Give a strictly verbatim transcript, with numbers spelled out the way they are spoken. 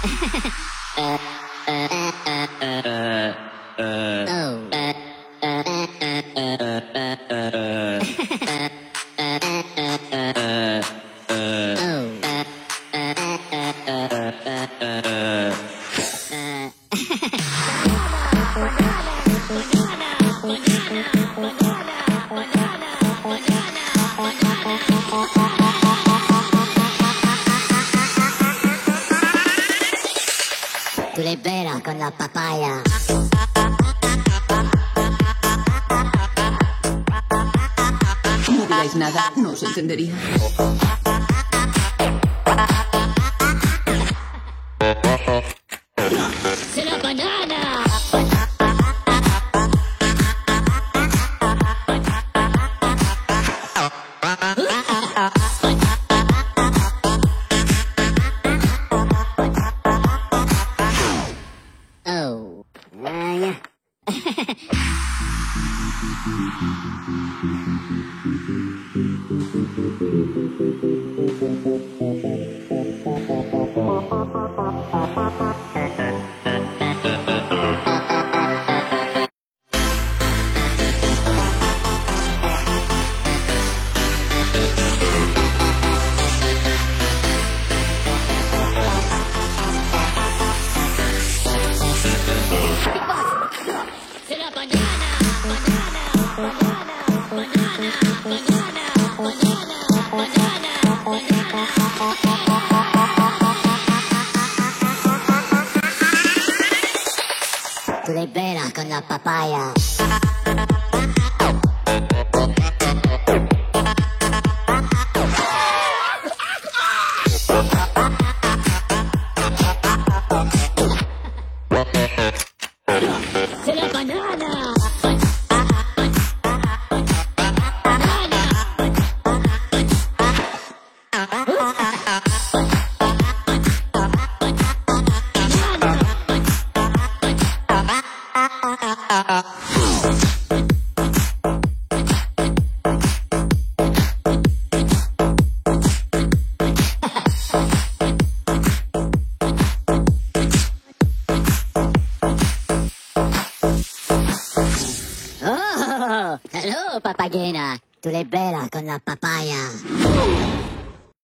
Tu libera con la papaya. No digáis nada, no os entendería. ¡Será banana! Oh. Vaya. ¡Será banana! ¡Banana! ¡Banana! ¡Banana! ¡Banana! ¡Banana! ¡Banana! Tu libera con la papaya. ¡Será banana! Oh, hello, papagena. Tu libera con la papaya.